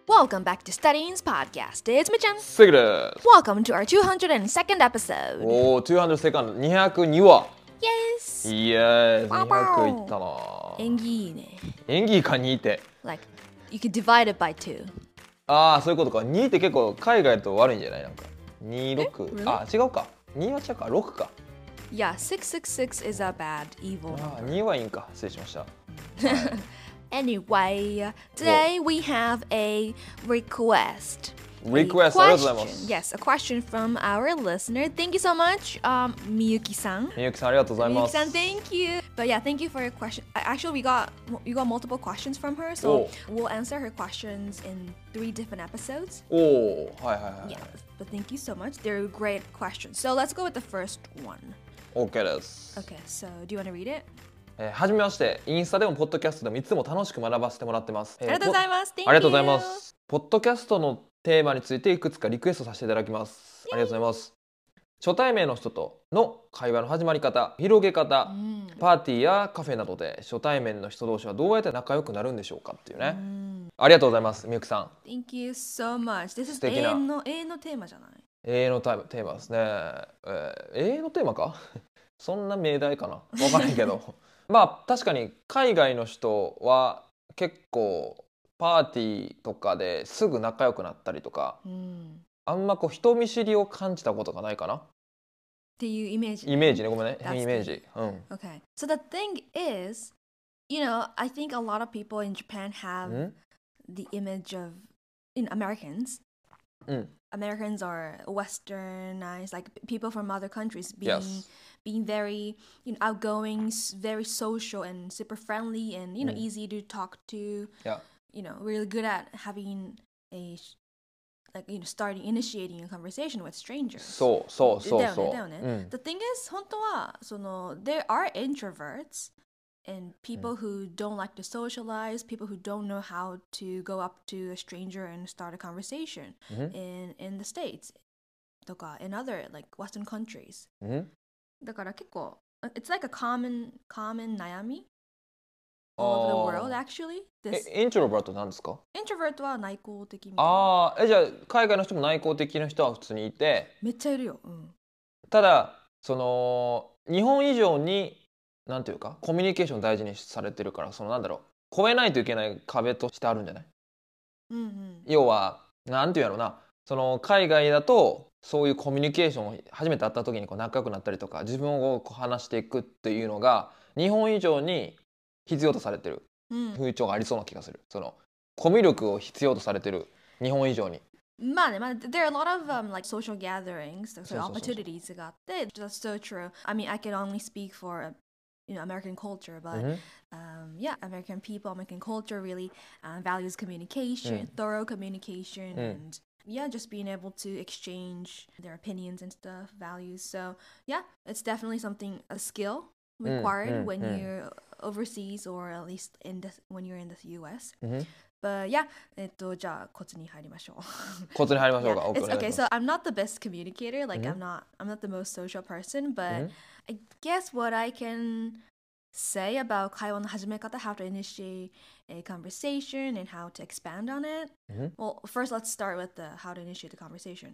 Welcome back to Studying's podcast. It's Michan. セグです。 Welcome to our 202nd episode. おお、200セカンド、202話。 Yes. イエーイ、200いったな。 縁起いいね。 演技か2って。 Like, you could divide it by 2. ああ、そういうことか。2って結構海外と悪いんじゃないなんか。26。 really? あ、違うか。2は違うか。6か。 Yeah, 666 is a bad, evil あ number. 2はいいんか。失礼しました。 Anyway, today we have a request. Request, ありがとうございます。 Yes, a question from our listener. Thank you so much, Miyuki-san. みゆきさん、ありがとうございます。 Miyuki-san, thank you. But yeah, thank you for your question. Actually, we got multiple questions from her, so we'll answer her questions in 3 different episodes. おお、はいはいはい。 Yeah, but thank you so much. They're great questions. So let's go with the first one. OK です。 Okay, so do you want to read it? はじめまして、インスタでもポッドキャストでもいつも楽しく学ばせてもらってます。 ありがとうございます。 ありがとうございます。ポッドキャストのテーマについていくつかリクエストさせていただきます。ありがとうございます。初対面の人との会話の始まり方、広げ方、パーティーやカフェなどで初対面の人同士はどうやって仲良くなるんでしょうかっていうね。ありがとうございます、みゆきさん。 Thank you so much. This is 永遠のテーマじゃない？ 永遠のテーマですね。永遠のテーマかそんな命題かなわからないけど。まあ確かに海外の人は結構パーティーとかですぐ仲良くなったりとか、あんまこう人見知りを感じたことがないかなっていうイメージ。 イメージね、ごめんね。イメージ。 Okay. So the thing is, I think a lot of people in Japan have the image of Americans. Americans are westernized, like people from other countries being very outgoing, very social and super friendly and easy to talk to. Yeah. Really good at having a initiating a conversation with strangers. そう。 だよね。The thing is, 本当はthere are introverts and people who don't like to socialize, people who don't know how to go up to a stranger and start a conversation in the States とか in other like Western countries. だから結構 it's like a common 悩み all over the world actually. イントロバートなんですか？ イントロバートは内向的みたいな。 じゃあ海外の人も内向的な人は普通にいて、 めっちゃいるよ。 ただ日本以上になんていうかコミュニケーション大事にされてるからなんだろう越えないといけない壁としてあるんじゃない？要はなんていうやろうな海外だとそういうコミュニケーションを初めて会った時に仲良くなったりとか自分を話していくっていうのが日本以上に必要とされてる風潮がありそうな気がする。コミュ力を必要とされてる日本以上に。 まあね、there are a lot of like social gatherings, so opportunities があって、that's so true. I mean, I can only speak for American culture, but yeah, American people, American culture really values communication, thorough communication, and yeah, just being able to exchange their opinions and stuff, values. So yeah, it's definitely a skill required when you're overseas or at least when you're in the US. But yeah, じゃあコツに入りましょう。 コツに入りましょうか。 Okay, so I'm not the best communicator, like I'm not the most social person, but I guess what I can say about 会話の始め方, how to initiate a conversation and how to expand on it. Well, first let's start with how to initiate the conversation.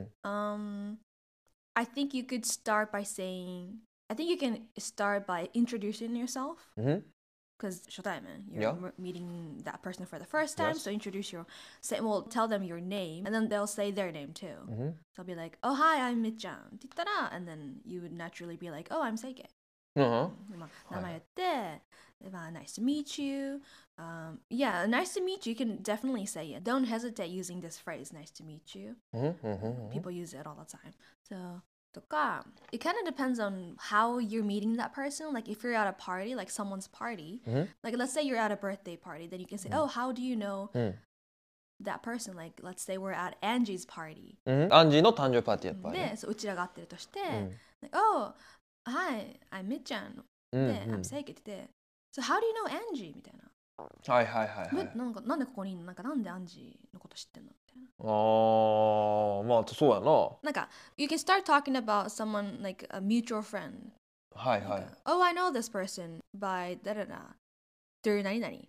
I think you could start by saying, I think you can start by introducing yourself. Because 初対面, you're meeting that person for the first time, so tell them your name, and then they'll say their name too. So I'll be like, oh, hi, I'm Mitchan, って言ったら, and then you would naturally be like, oh, I'm Seike. 名前言って、nice to meet you. Yeah, nice to meet you, you can definitely say it. Don't hesitate using this phrase, nice to meet you. People use it all the time. So, it kind of depends on how you're meeting that person. Like if you're at a party, like someone's party, like let's say you're at a birthday party, then you can say, oh, how do you know that person? Like let's say we're at Angie's party. アンジーの誕生日パーティーやっぱり、 で、うちらが会ってるとして、like, oh, hi, I'm Mitchan. で、I'm Seike って言って、so how do you know Angie? みたいな。 はいはいはいはい。 なんでここにいんの？なんでアンジーのこと知ってんの？みたいな。 まあそうやな。 you can start talking about someone like a mutual friend. はいはい。 Oh, I know this person by 誰々 through 何々。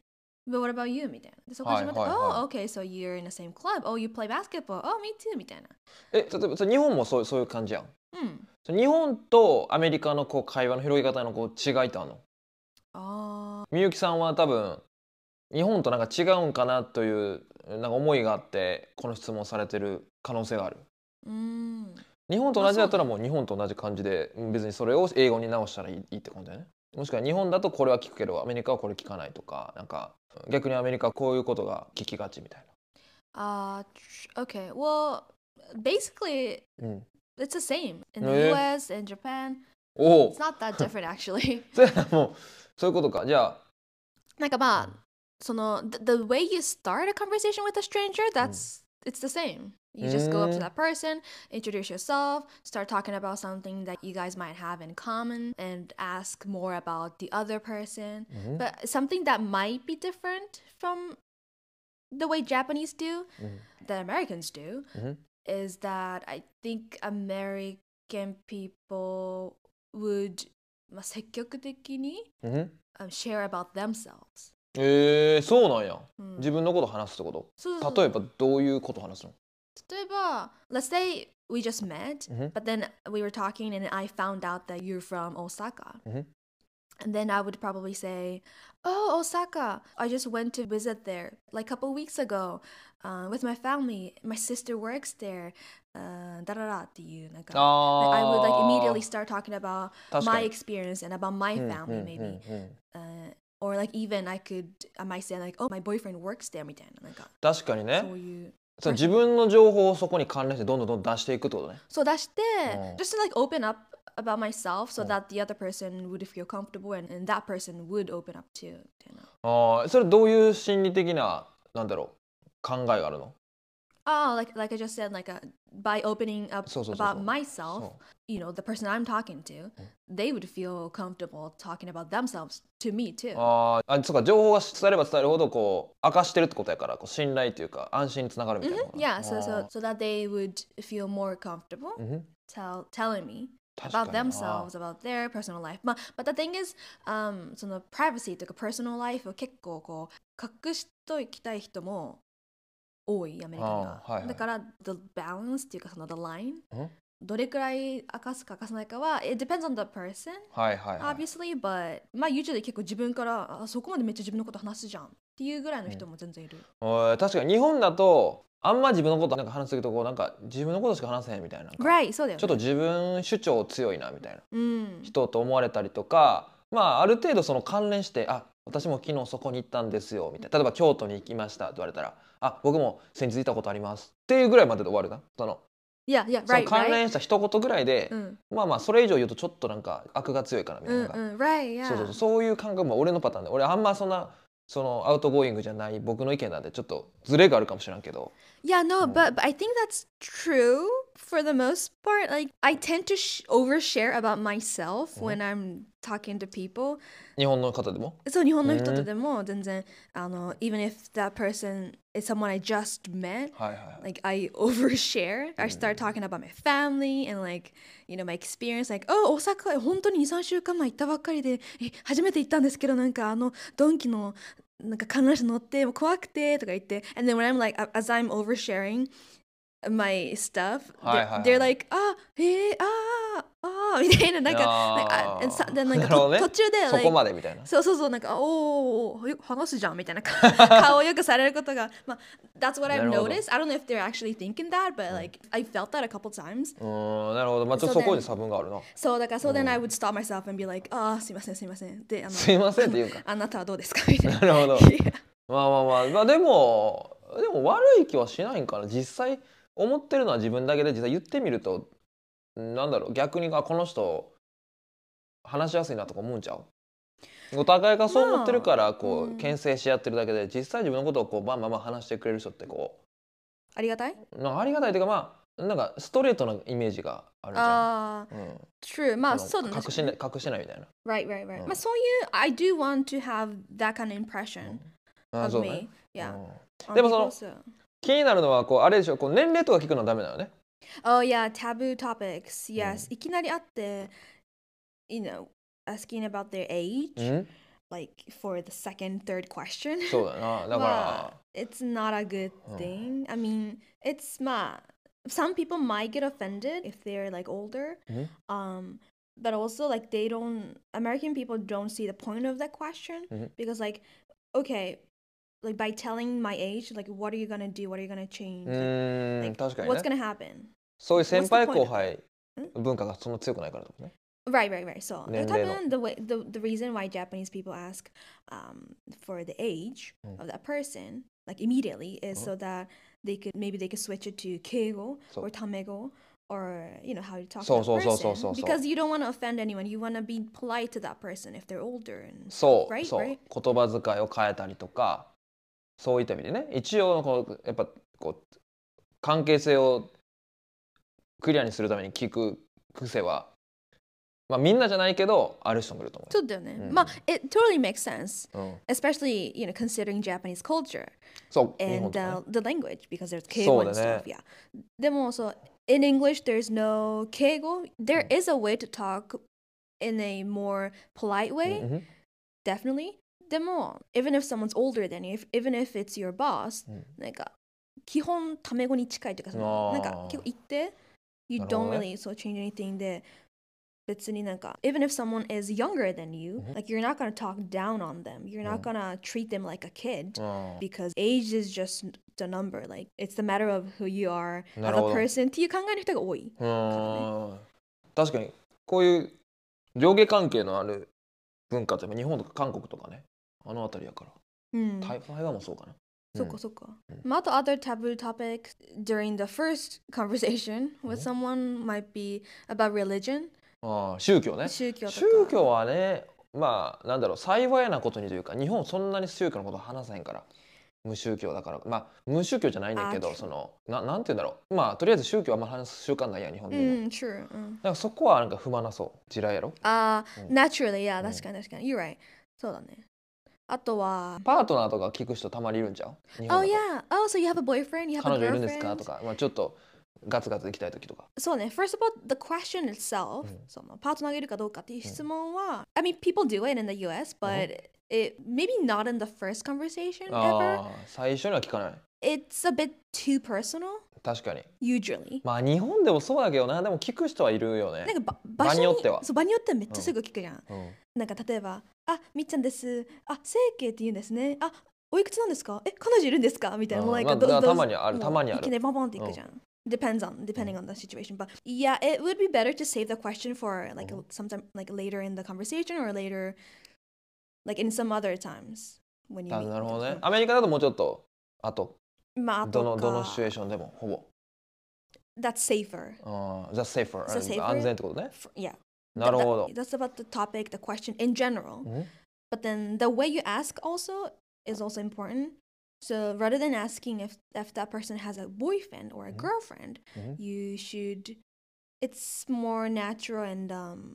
But what about you? みたいな。で、そこ始まって、Oh, okay, so you're in the same club. Oh, you play basketball. Oh, me too. みたいな。 例えば日本もそういう感じやん。日本とアメリカのこう会話の広げ方のこう違いってあるの？みゆきさんは多分日本となんか違うんかなというなんか思いがあってこの質問されてる可能性がある。日本と同じだったらもう日本と同じ感じで別にそれを英語に直したらいいってことだよね。もしくは日本だとこれは聞くけどアメリカはこれ聞かないとか、なんか逆にアメリカはこういうことが聞きがちみたいな。Okay. Well, basically, it's the same in the US and Japan. It's not that different actually. もうそういうことか。じゃあなんかまあその the way you start a conversation with a stranger, it's the same. You just go up to that person, introduce yourself, start talking about something that you guys might have in common, and ask more about the other person. But something that might be different from the way Japanese do, that Americans do, is that I think American people would 積極的にshare about themselves. そうなんや。自分のこと話すってこと？例えばどういうこと話すの？ 例えば let's say we just met, but then we were talking and I found out that you're from Osaka. And then I would probably say, oh, Osaka, I just went to visit there like a couple weeks ago with my family. My sister works there. だららっていうなんか I would like immediately start talking about my experience and about my family maybe. Or like even I might say like, oh, my boyfriend works there みたいななんか確かにね。 そういう自分の情報をそこに関連してどんどん出していくってことね。 そう出して、just to like open up about myself so that the other person would feel comfortable and that person would open up too みたいな。それどういう心理的ななんだろう考えがあるの ？Like I just said, like by opening up about myself, you know, the person I'm talking to, they would feel comfortable talking about themselves to me too. そうか、情報が伝えれば伝えるほどこう明かしてるってことやからこう信頼というか安心につながるみたいな。 Yeah, so that they would feel more comfortable telling me about themselves, about their personal life. But the thing is, その privacy というか personal life を結構こう隠しときたい人も多いアメリカには。だから the balance っていうかその the line、どれくらい明かすか明かさないかは it depends on the person、obviously, but まあ usually 結構自分からそこまでめっちゃ自分のこと話すじゃんっていうぐらいの人も全然いる。 確かに日本だとあんま自分のことなんか話すとこうなんか自分のことしか話せへんみたいな。 Right、そうだよね。 ちょっと自分主張強いなみたいな、人と思われたりとか、まあある程度その関連して私も昨日そこに行ったんですよみたいな。例えば京都に行きましたと言われたら僕も先日行ったことありますっていうぐらいまでで終わるな。その関連した一言ぐらいで、まあそれ以上言うとちょっとなんか悪が強いからみたいな。そういう感覚も俺のパターンで、俺あんまそんなそのアウトゴーイングじゃない僕の意見なんでちょっとズレがあるかもしれんけど。 Yeah, no, but I think that's true for the most part. Like I tend to overshare about myself when I'm talking to people. 日本の方でも？ そう、日本の人とでも全然even if that person is someone I just met, like I overshare. I start talking about my family and like, you know, my experience. Like, oh, 大阪本当に2、3週間前行ったばっかりで、初めて行ったんですけどなんかドンキのなんか観覧車乗って怖くてとか言って and then when I'm like as I'm oversharing my stuff they're like みたいななんか途中でそこまでみたいなそうなんか話すじゃんみたいな顔をよくされることがまあ that's what I've noticed. I don't know if they're actually thinking that but like I felt that a couple times. なるほど。まあちょっとそこに差分があるな。 そうだからso then I would stop myself and be like すいませんですいませんって言うかあなたはどうですかみたいな。 なるほど。まあでも悪い気はしないんかな。実際思ってるのは自分だけで実際言ってみるとなんだろう逆にこの人話しやすいなとか思うんちゃう？お互いがそう思ってるからこう牽制し合ってるだけで実際自分のことをこうバンバン話してくれる人ってこうありがたい？ ありがたいというかまあなんかストレートなイメージがあるじゃん。 True。まあそうだね。 隠してないみたいな。 Right。まあそういう I do want to have that kind of impression of me. Yeah。 でもその気になるのはこうあれでしょこう年齢とか聞くのはダメなのね。 Oh yeah, taboo topics. Yes. いきなり会って you know, asking about their age. like for the second, third question. そうだな。だから it's not a good thing. I mean, it's some people might get offended if they're like older. But also like American people don't see the point of that question because like, okay, like by telling my age, like what are you gonna do? What are you gonna change? Like, 確かにね。 what's gonna happen? そういう先輩後輩文化がそんな強くないからだもんね。 Right. So, the reason why Japanese people ask for the age of that person like immediately is so that they could switch it to keigo or tamego or how you talk to that person because you don't want to offend anyone. You want to be polite to that person if they're older and stuff, right? 言葉遣いを変えたりとか、そういった意味でね、一応やっぱ関係性をクリアにするために聞く癖は、みんなじゃないけどある人もいると思う。 そうだよね。it totally makes sense, especially considering Japanese culture and the language because there's keigo and stuff. Yeah. でもin English there's no keigo. There is a way to talk in a more polite way, definitely. でも even if someone's older than you, even if it's your boss, なんか基本タメ語に近いというかなんか結構言って you don't really change anything で別になんか even if someone is younger than you, like you're not gonna talk down on them. You're not gonna treat them like a kid because age is just the number. Like it's the matter of who you are as a person っていう考えの人が多いからね。 確かにこういう上下関係のある文化って日本とか韓国とかね、あのあたりやから。台湾もそうかな。 そっか。あと other taboo topics during the first conversation with someone might be about religion. 宗教ね。宗教はね、なんだろう、幸いなことにというか、日本そんなに宗教のこと話さへんから、無宗教だから、無宗教じゃないんだけど、なんて言うんだろう、とりあえず宗教はあんま話す習慣ないやん、日本人は。だからそこはなんか踏まなそう、地雷やろ。 naturally, yeah, 確かに。You're right. そうだね。あとはパートナーとか聞く人たまにいるんちゃう？ Oh yeah. Oh, so you have a boyfriend? You have a girlfriend? 彼女いるんですかとか、ちょっとガツガツ行きたい時とか。 そうね。First of all, the question itself, そのパートナーがいるかどうかっていう質問は、I mean, people do it in the US, but it maybe not in the first conversation ever. 最初には聞かない。 It's a bit too personal. 確かに。 Usually. 日本でもそうだけどな、でも聞く人はいるよね。 なんか場によっては。場によってはめっちゃすぐ聞くじゃん。なんか例えば、みっちゃんです。整形って言うんですね。おいくつなんですか？彼女いるんですか？みたいな。 たまにある。 いきなりボンボンっていくじゃん。depending on the situation, but yeah, it would be better to save the question for like sometime like later in the conversation or later like in some other times when you meet. なるほどね。アメリカだともうちょっとどのシチュエーションでもほぼ。 That's safer. That's safer. 安全ってことね。 Yeah. なるほど。 That's about the topic, the question in general. But then the way you ask also is also important. So rather than asking if that person has a boyfriend or a girlfriend, you should. It's more natural and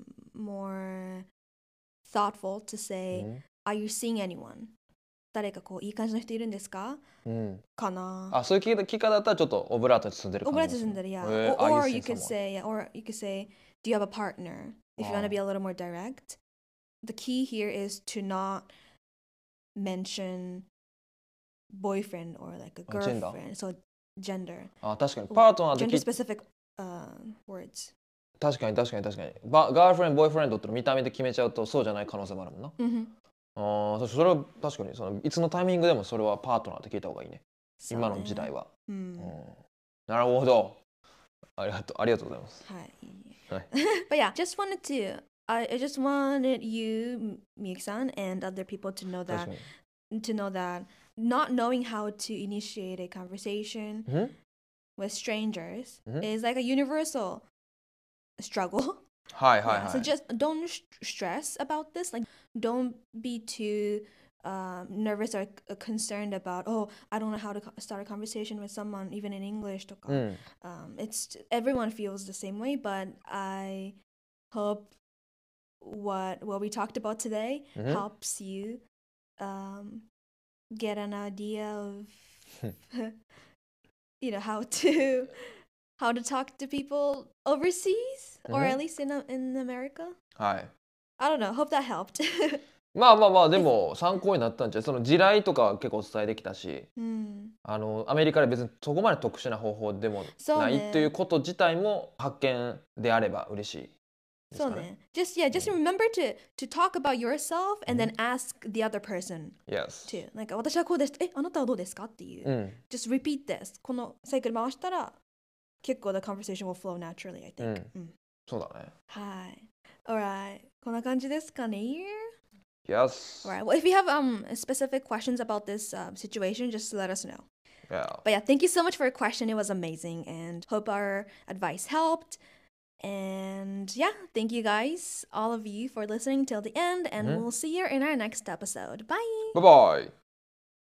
more thoughtful to say, "Are you seeing anyone?" 誰かいい感じの人いるんですか？かな。 そういう聞き方だったらちょっとオブラートに包んでる感じ。 オブラートに包んでる、yeah. Or you could say, "Do you have a partner?" If you want to be a little more direct, the key here is to not mention boyfriend or like a girlfriend. So gender. 確かにパートナーで gender specific words. 確かに。ガールフレンド、ボーイフレンドって見た目で決めちゃうとそうじゃない可能性もあるもんな。それは確かにいつのタイミングでもそれはパートナーって聞いた方がいいね。今の時代は。なるほど。ありがとうございます。 はい。But yeah, I just wanted you, Miyuki-san, and other people to know that not knowing how to initiate a conversation with strangers is like a universal struggle. So just don't stress about this. Like, don't be too nervous or concerned about, I don't know how to start a conversation with someone, even in English. It's everyone feels the same way, but I hope what we talked about today helps you get an idea of how to talk to people overseas or at least in America. I don't know. Hope that helped. まあまあまあでも参考になったんじゃその地雷とか結構お伝えできたし、アメリカで別にそこまで特殊な方法でもないということ自体も発見であれば嬉しい。 そうね。just remember to talk about yourself and then ask the other person too. なんか私はこうです。あなたはどうですかっていう。just repeat this. このサイクル回したら結構 the conversation will flow naturally, I think. そうだね。 はい。Alright. こんな感じですかね。 Yes. Alright. Well, if you have specific questions about this situation, just let us know. Yeah. But yeah, thank you so much for your question. It was amazing and hope our advice helped. And yeah, thank you guys, all of you, for listening till the end. And we'll see you in our next episode. Bye. Bye-bye.